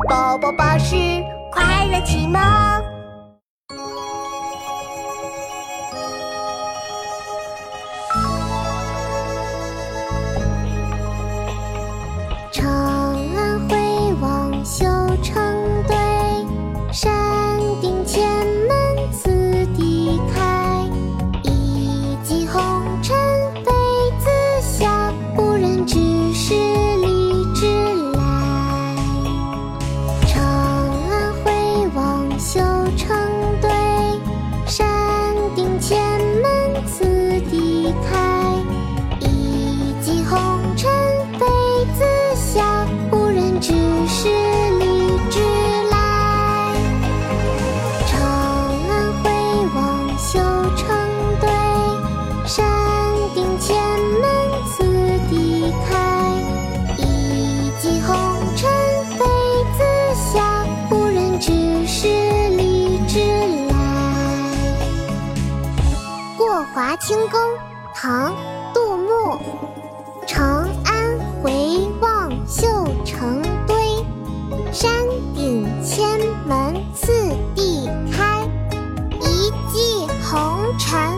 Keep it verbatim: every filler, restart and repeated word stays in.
宝宝巴士快乐启蒙。 长安回望绣成堆，山顶千门次第开。一骑红尘妃子笑，无人知是荔枝来。长安回望绣成堆，山顶千门次第开。一骑红尘妃子笑，无人知是荔枝来。长安回望绣成堆，山顶千门次第开。一骑红尘妃子笑，无人知是荔枝来。过华清宫，唐·杜牧。长安回望绣成堆，山顶千门次第开。一骑红尘